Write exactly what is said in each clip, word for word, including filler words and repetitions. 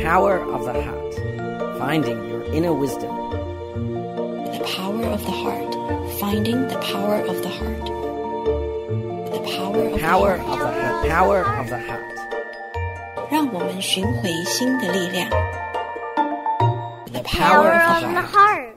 power of the heart, finding your inner wisdom. The power of the heart, finding the power of the heart. The power of Power the of heart. the heart. Power of the heart. 让我们寻回心的力量。The Power power of of the the heart. heart.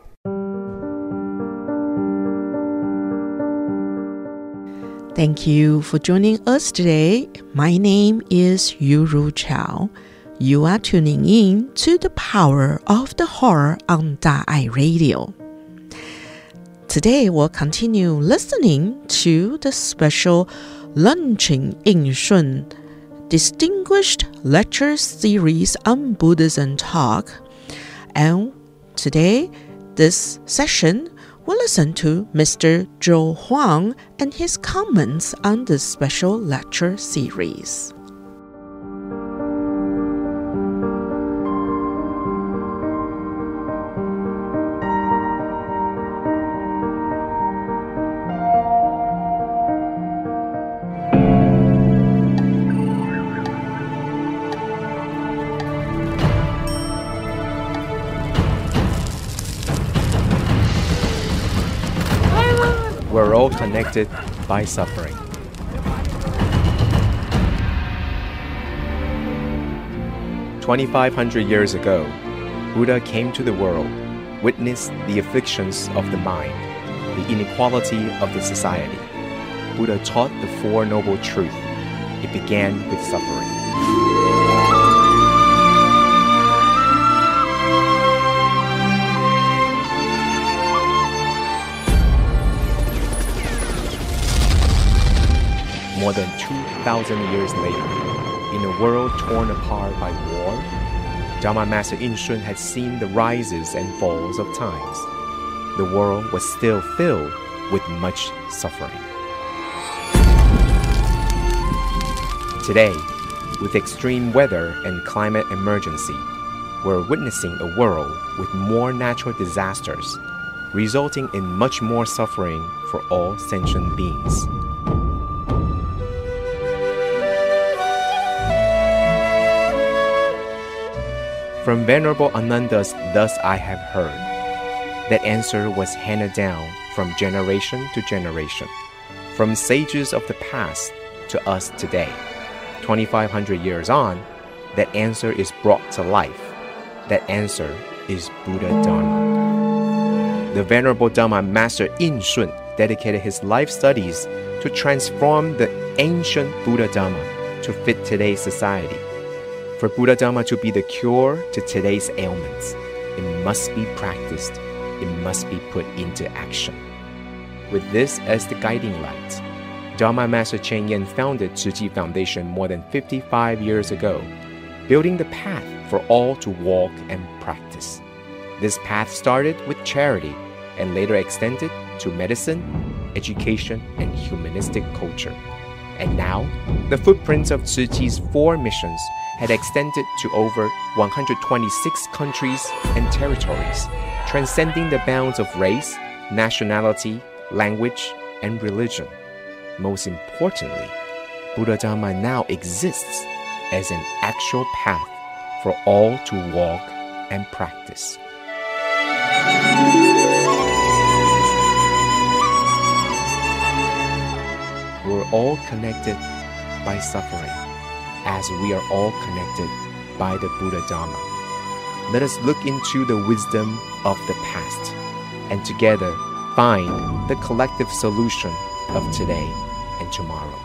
Thank you for joining us today. My name is Yuru Chao. You are tuning in to the Power of the Heart on Da'ai Radio. Today we'll continue listening to the special Launching Yingshun Distinguished Lecture Series on Buddhism Talk. And today, this session we'll listen to Mister Zhou Huang and his comments on this special lecture series. We're all connected by suffering. twenty-five hundred years ago, Buddha came to the world, witnessed the afflictions of the mind, the inequality of the society. Buddha taught the Four Noble Truths. It began with suffering. More than two thousand years later, in a world torn apart by war, Dharma Master Yingshun had seen the rises and falls of times. The world was still filled with much suffering. Today, with extreme weather and climate emergency, we're witnessing a world with more natural disasters, resulting in much more suffering for all sentient beings. From Venerable Ananda's Thus I Have Heard, that answer was handed down from generation to generation, from sages of the past to us today. twenty-five hundred years on, that answer is brought to life. That answer is Buddha Dharma. The Venerable Dharma Master Yingshun dedicated his life studies to transform the ancient Buddha Dharma to fit today's society. For Buddha Dharma to be the cure to today's ailments, it must be practiced, it must be put into action. With this as the guiding light, Dharma Master Cheng Yen founded Tzu Chi Foundation more than fifty-five years ago, building the path for all to walk and practice. This path started with charity and later extended to medicine, education, and humanistic culture. And now, the footprints of Tzu Chi's four missions had extended to over one hundred twenty-six countries and territories, transcending the bounds of race, nationality, language, and religion. Most importantly, Buddha Dharma now exists as an actual path for all to walk and practice. We're all connected by suffering, as we are all connected by the Buddha Dharma. Let us look into the wisdom of the past and together find the collective solution of today and tomorrow.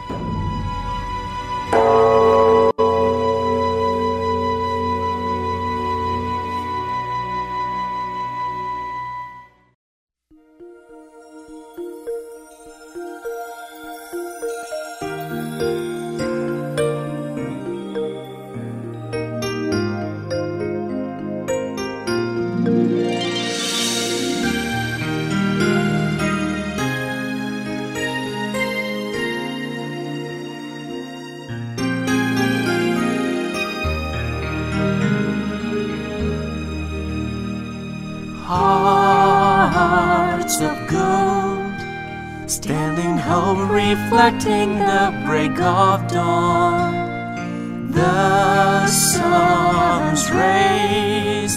Hearts of gold, stand in hope, reflecting the break of dawn. The sun's rays,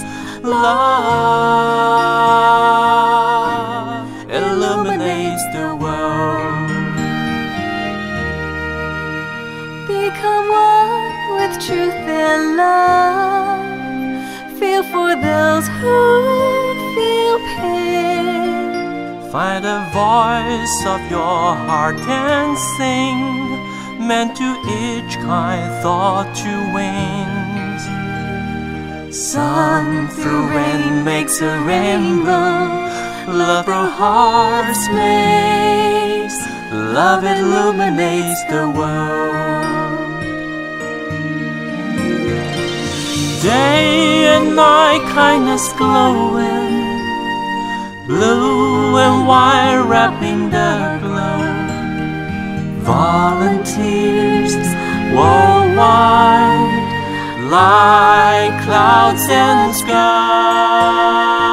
love illuminates the world. Become one with truth and love. Feel for those who feel pain. Find a voice of your heart and sing, meant to each kind thought to wings. Sun through rain makes a rainbow. Love through hearts makes. Love illuminates the world. Day and night, kindness glowing. Blue and white wrapping the glow. Volunteers worldwide, like clouds and sky.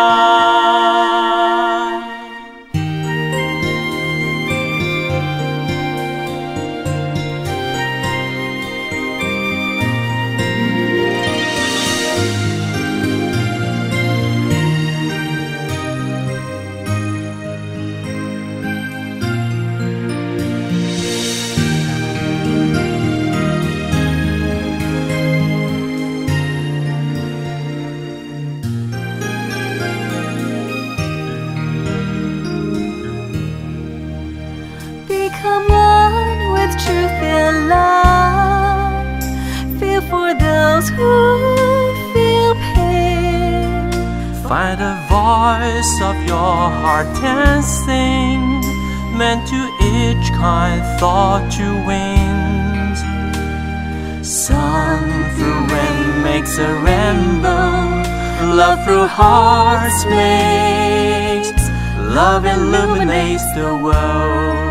Become one with truth and love. Feel for those who feel pain. Find a voice of your heart and sing, meant to each kind thought to wings. Sun through rain makes a rainbow. Love through hearts makes. Love illuminates the world.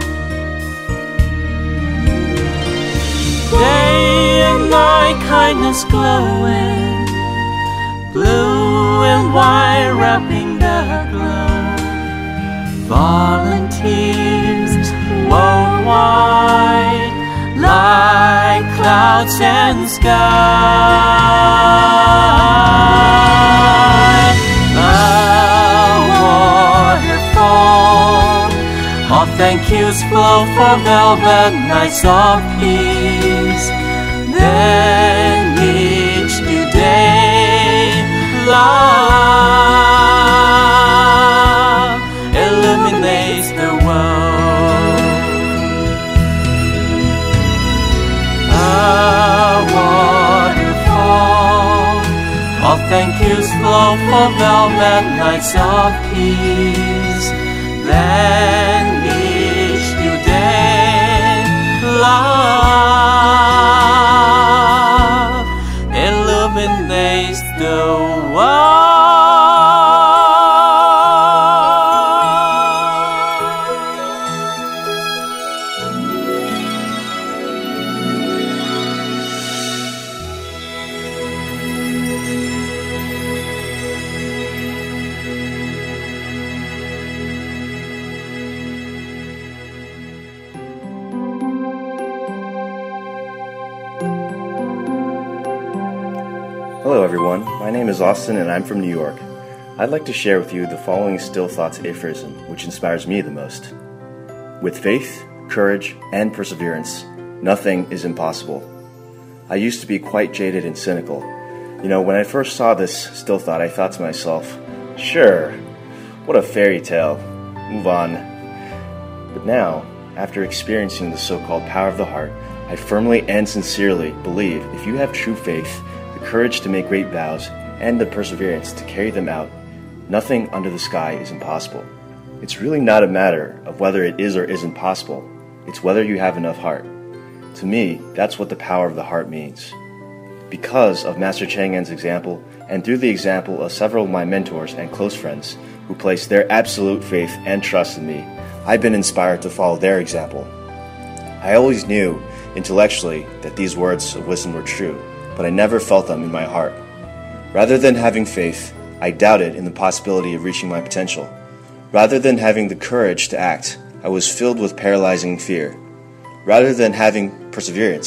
Day and night, kindness glowing. Blue and white wrapping the glow. Volunteers worldwide, like clouds and sky. A waterfall of thank yous flow for velvet nights of peace. Then each new day, love illuminates the world. A waterfall of thank yous flow for velvet nights of peace. Then each new day, love illuminates the world. Hello everyone, my name is Austin and I'm from New York. I'd like to share with you the following Still Thoughts aphorism, which inspires me the most. With faith, courage, and perseverance, nothing is impossible. I used to be quite jaded and cynical. You know, when I first saw this still thought, I thought to myself, sure, what a fairy tale, move on. But now, after experiencing the so-called power of the heart, I firmly and sincerely believe if you have true faith, the courage to make great vows, and the perseverance to carry them out, nothing under the sky is impossible. It's really not a matter of whether it is or isn't possible. It's whether you have enough heart. To me, that's what the power of the heart means. Because of Master Cheng En's example, and through the example of several of my mentors and close friends who placed their absolute faith and trust in me, I've been inspired to follow their example. I always knew, intellectually, that these words of wisdom were true, but I never felt them in my heart. Rather than having faith, I doubted in the possibility of reaching my potential. Rather than having the courage to act, I was filled with paralyzing fear. Rather than having perseverance,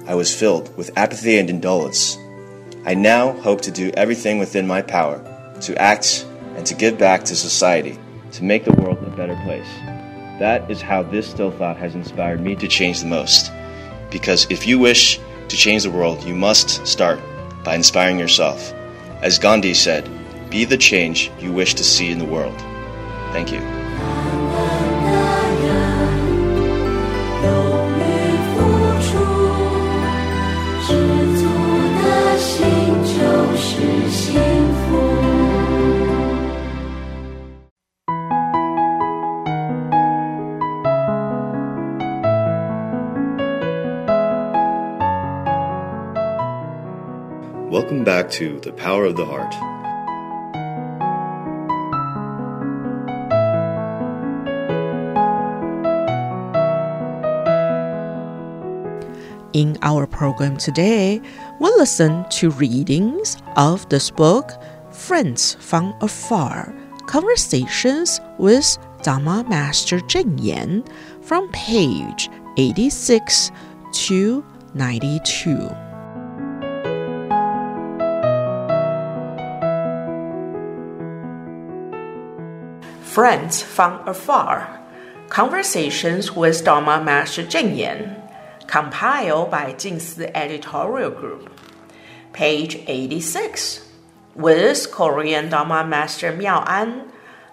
I was filled with apathy and indolence. I now hope to do everything within my power to act and to give back to society, to make the world a better place. That is how this still thought has inspired me to change the most. Because if you wish to change the world, you must start by inspiring yourself. As Gandhi said, be the change you wish to see in the world. Thank you. Welcome back to The Power of the Heart. In our program today, we'll listen to readings of this book, Friends from Afar, Conversations with Dharma Master Cheng Yen, from page eighty-six to ninety-two. Friends from Afar, Conversations with Dharma Master Cheng Yen, compiled by Jingsi Editorial Group. Page eighty-six, with Korean Dharma Master Miao An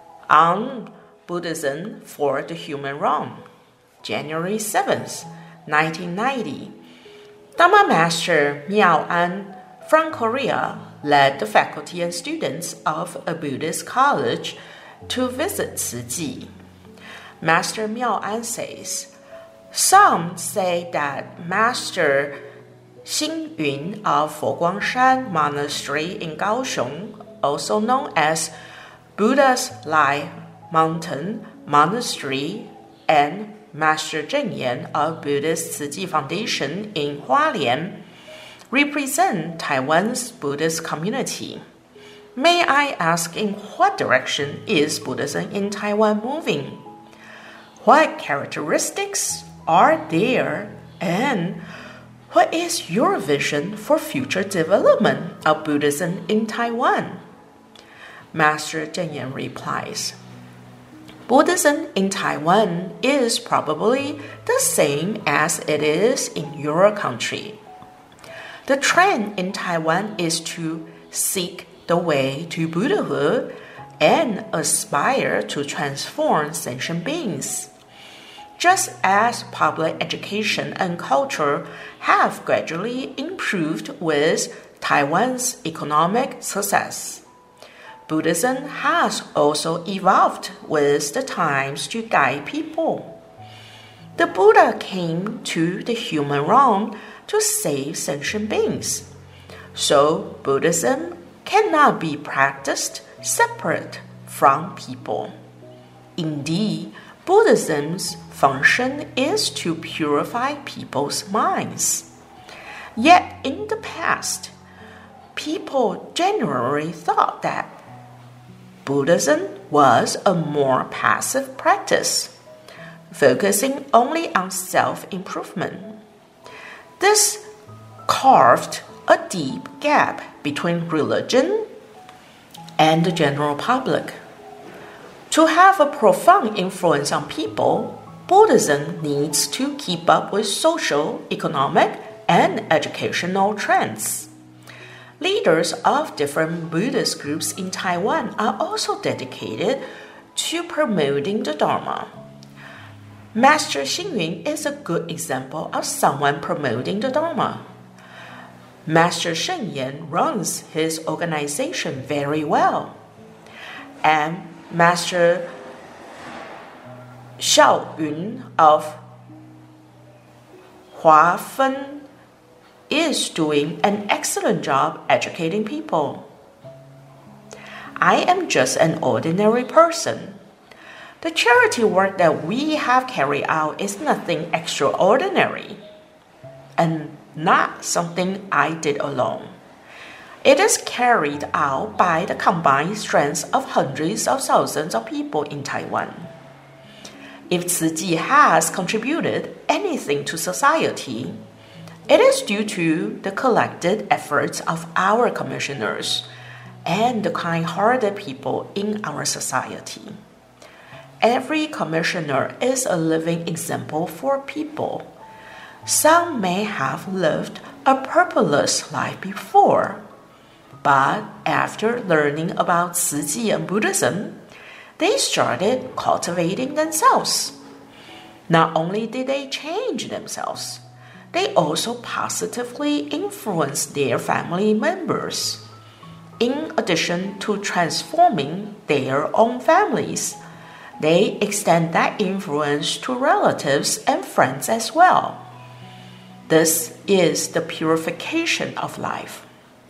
on Buddhism for the Human Realm, January seventh, nineteen ninety. Dharma Master Miao An from Korea led the faculty and students of a Buddhist college to visit Tzu Chi. Master Miao An says, some say that Master Xing Yun of Foguangshan Monastery in Kaohsiung, also known as Buddha's Lie Mountain Monastery, and Master Cheng Yen of Buddhist Tzu Chi Foundation in Hualien represent Taiwan's Buddhist community. May I ask, in what direction is Buddhism in Taiwan moving? What characteristics are there, and what is your vision for future development of Buddhism in Taiwan? Master Cheng Yen replies, Buddhism in Taiwan is probably the same as it is in your country. The trend in Taiwan is to seek the way to Buddhahood and aspire to transform sentient beings. Just as public education and culture have gradually improved with Taiwan's economic success, Buddhism has also evolved with the times to guide people. The Buddha came to the human realm to save sentient beings. So Buddhism cannot be practiced separate from people. Indeed, Buddhism's function is to purify people's minds. Yet in the past, people generally thought that Buddhism was a more passive practice, focusing only on self-improvement. This carved a deep gap between religion and the general public. To have a profound influence on people, Buddhism needs to keep up with social, economic, and educational trends. Leaders of different Buddhist groups in Taiwan are also dedicated to promoting the Dharma. Master Xing Yun is a good example of someone promoting the Dharma. Master Cheng Yen runs his organization very well, and Master Xiao Yun of Hua Fen is doing an excellent job educating people. I am just an ordinary person. The charity work that we have carried out is nothing extraordinary, and not something I did alone. It is carried out by the combined strength of hundreds of thousands of people in Taiwan. If Tzu Chi has contributed anything to society, It is due to the collected efforts of our commissioners and the kind-hearted people in our society. Every commissioner is a living example for people. Some may have lived a purposeless life before, but after learning about Tzu Chi and Buddhism, they started cultivating themselves. Not only did they change themselves, they also positively influenced their family members. In addition to transforming their own families, they extend that influence to relatives and friends as well. This is the purification of life.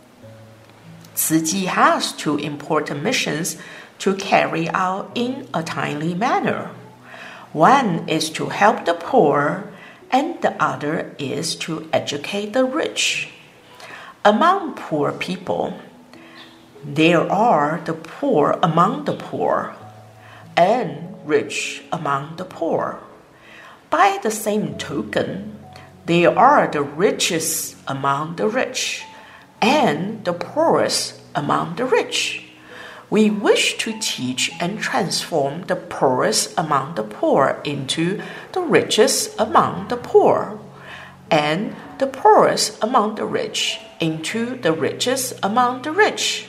Tzu Chi has two important missions to carry out in a timely manner. One is to help the poor, and the other is to educate the rich. Among poor people, there are the poor among the poor, and rich among the poor. By the same token, there are the richest among the rich, and the poorest among the rich. We wish to teach and transform the poorest among the poor into the richest among the poor, and the poorest among the rich into the richest among the rich.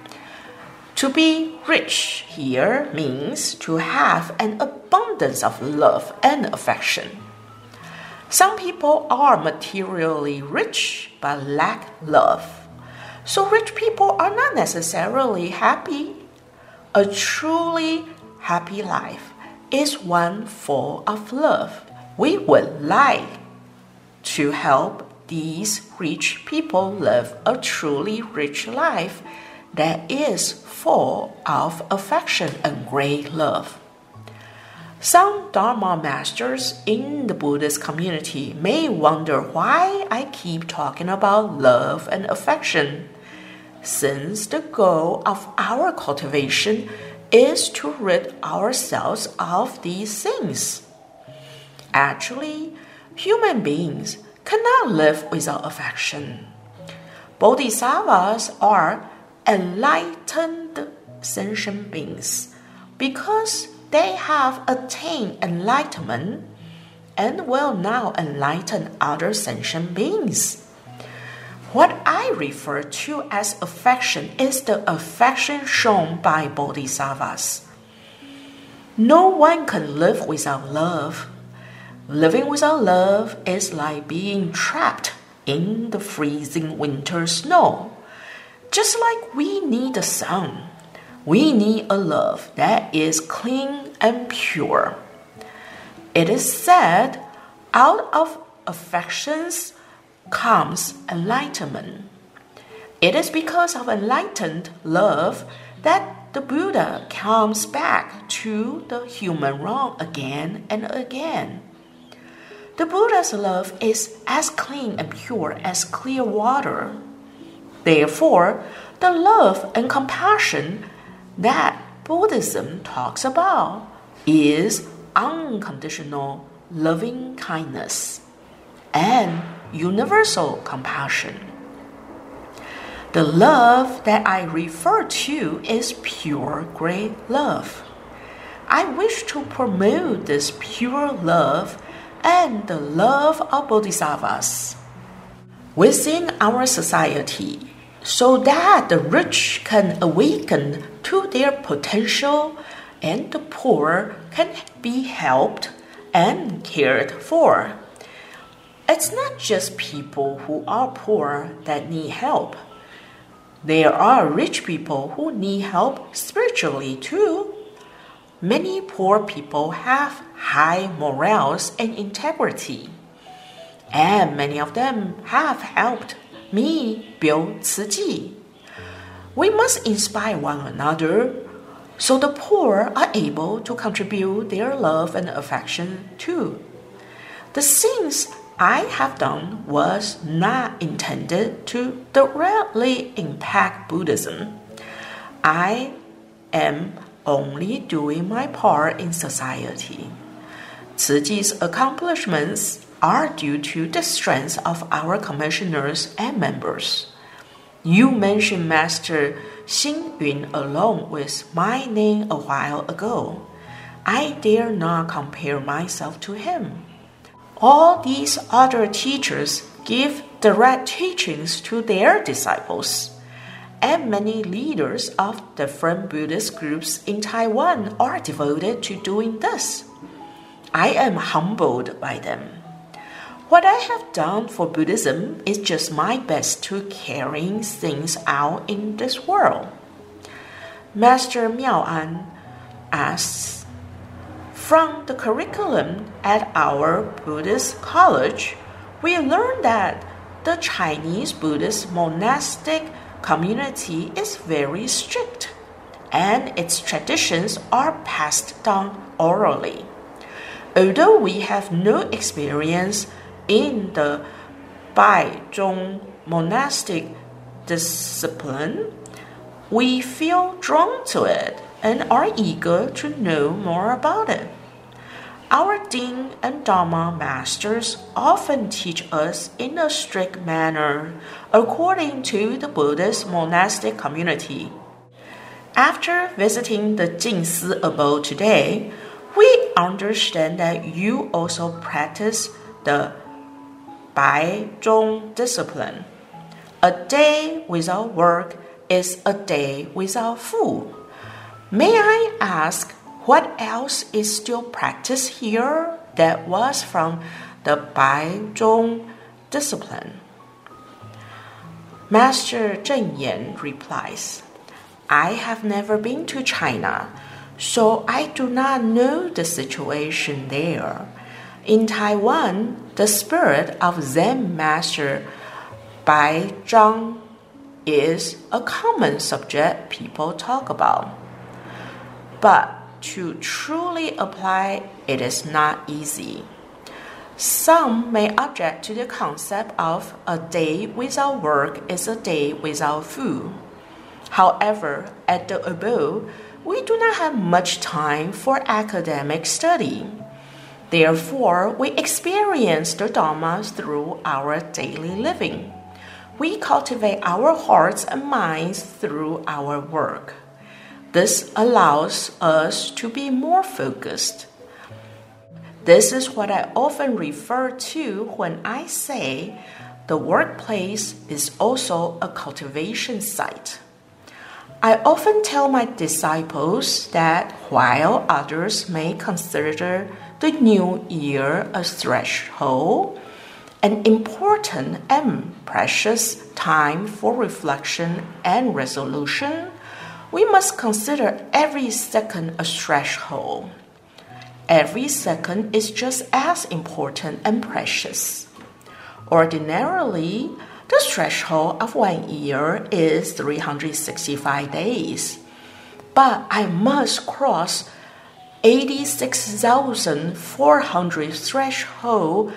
To be rich here means to have an abundance of love and affection. Some people are materially rich but lack love. So rich people are not necessarily happy. A truly happy life is one full of love. We would like to help these rich people live a truly rich life that is full of affection and great love. Some Dharma masters in the Buddhist community may wonder why I keep talking about love and affection, since the goal of our cultivation is to rid ourselves of these things. Actually, human beings cannot live without affection. Bodhisattvas are enlightened sentient beings because they have attained enlightenment and will now enlighten other sentient beings. What I refer to as affection is the affection shown by bodhisattvas. No one can live without love. Living without love is like being trapped in the freezing winter snow. Just like we need the sun, we need a love that is clean and pure. It is said, out of affections comes enlightenment. It is because of enlightened love that the Buddha comes back to the human realm again and again. The Buddha's love is as clean and pure as clear water. Therefore, the love and compassion that Buddhism talks about is unconditional loving kindness and universal compassion. The love that I refer to is pure great love. I wish to promote this pure love and the love of bodhisattvas within our society, so that the rich can awaken to their potential and the poor can be helped and cared for. It's not just people who are poor that need help. There are rich people who need help spiritually too. Many poor people have high morals and integrity, and many of them have helped me build Tzu Chi. We must inspire one another so the poor are able to contribute their love and affection too. The things I have done was not intended to directly impact Buddhism. I am only doing my part in society. Tzu Chi's accomplishments are due to the strength of our commissioners and members. You mentioned Master Xing Yun along with my name a while ago. I dare not compare myself to him. All these other teachers give direct teachings to their disciples, and many leaders of different Buddhist groups in Taiwan are devoted to doing this. I am humbled by them. What I have done for Buddhism is just my best to carrying things out in this world. Master Miao An asks, from the curriculum at our Buddhist college, we learned that the Chinese Buddhist monastic community is very strict, and its traditions are passed down orally. Although we have no experience in the Baizhong monastic discipline, we feel drawn to it and are eager to know more about it. Our Dean and Dharma masters often teach us in a strict manner according to the Buddhist monastic community. After visiting the Jingsi abode today, we understand that you also practice the Baizhong discipline. A day without work is a day without food. May I ask what else is still practiced here that was from the Baizhong discipline? Master Zheng Yan replies, I have never been to China, so I do not know the situation there. In Taiwan, the spirit of Zen Master Baizhang is a common subject people talk about. But to truly apply it is not easy. Some may object to the concept of a day without work is a day without food. However, at the abode, we do not have much time for academic study. Therefore, we experience the Dharma through our daily living. We cultivate our hearts and minds through our work. This allows us to be more focused. This is what I often refer to when I say the workplace is also a cultivation site. I often tell my disciples that while others may consider the new year a threshold, an important and precious time for reflection and resolution, we must consider every second a threshold. Every second is just as important and precious. Ordinarily, the threshold of one year is three hundred sixty-five days, but I must cross eighty-six thousand four hundred threshold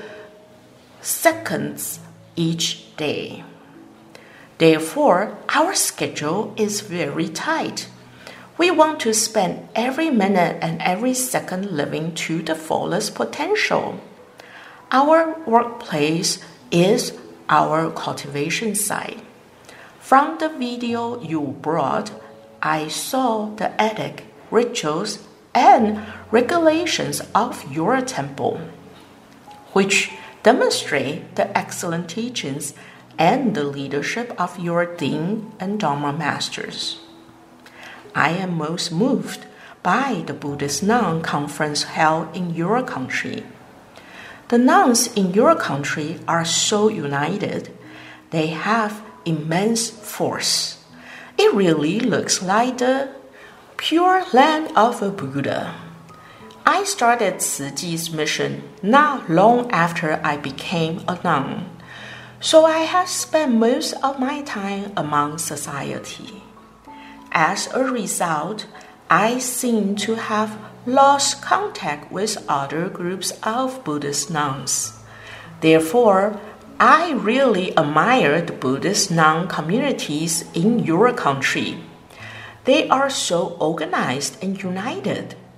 seconds each day. Therefore, our schedule is very tight. We want to spend every minute and every second living to the fullest potential. Our workplace is our cultivation site. From the video you brought, I saw the ethic, rituals, and regulations of your temple, which demonstrate the excellent teachings and the leadership of your Dean and Dharma masters. I am most moved by the Buddhist Nun conference held in your country. The nuns in your country are so united. They have immense force. It really looks like the pure land of a Buddha. I started Tzu Chi's mission not long after I became a nun, so I have spent most of my time among society. As a result, I seem to have lost contact with other groups of Buddhist nuns. Therefore, I really admire the Buddhist nun communities in your country. They are so organized and united.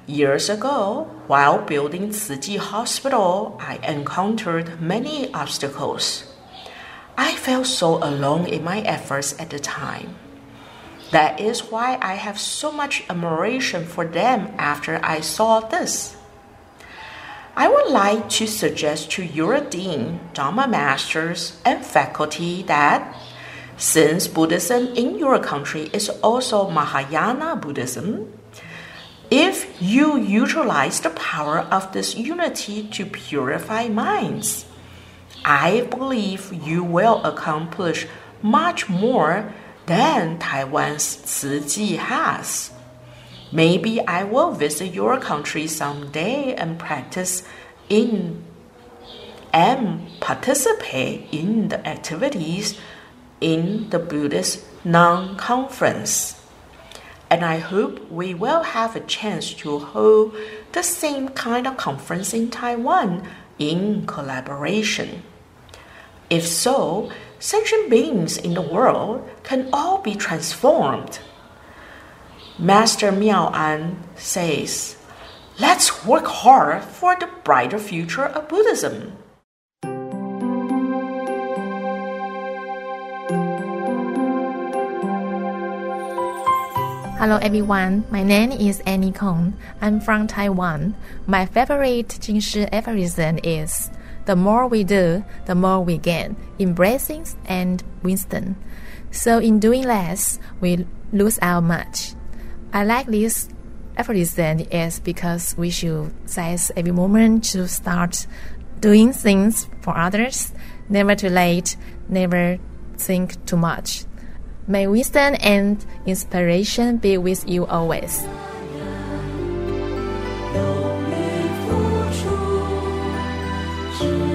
Years ago, while building Tzu Chi Hospital, I encountered many obstacles. I felt so alone in my efforts at the time. That is why I have so much admiration for them after I saw this. I would like to suggest to your dean, Dharma masters, and faculty that since Buddhism in your country is also Mahayana Buddhism, if you utilize the power of this unity to purify minds, I believe you will accomplish much more than Taiwan's Tzu Chi has. Maybe I will visit your country someday and practice in and participate in the activities in the Buddhist non-conference. And I hope we will have a chance to hold the same kind of conference in Taiwan in collaboration. If so, sentient beings in the world can all be transformed. Master Miao An says, let's work hard for the brighter future of Buddhism. Hello everyone, my name is Annie Kong. I'm from Taiwan. My favorite Jing Shi aphorism is, the more we do, the more we gain in blessings and wisdom. So in doing less, we lose out much. I like this aphorism is because we should seize every moment to start doing things for others. Never too late, never think too much. May wisdom and inspiration be with you always. Don't live for true.